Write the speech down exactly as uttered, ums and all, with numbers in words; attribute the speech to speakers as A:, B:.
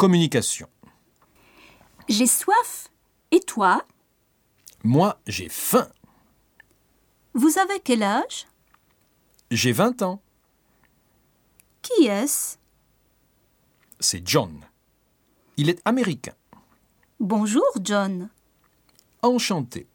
A: Communication.
B: J'ai soif. Et toi?
A: Moi, j'ai faim.
B: Vous avez quel âge?
A: J'ai vingt ans.
B: Qui est-ce?
A: C'est John. Il est américain.
B: Bonjour, John.
A: Enchanté.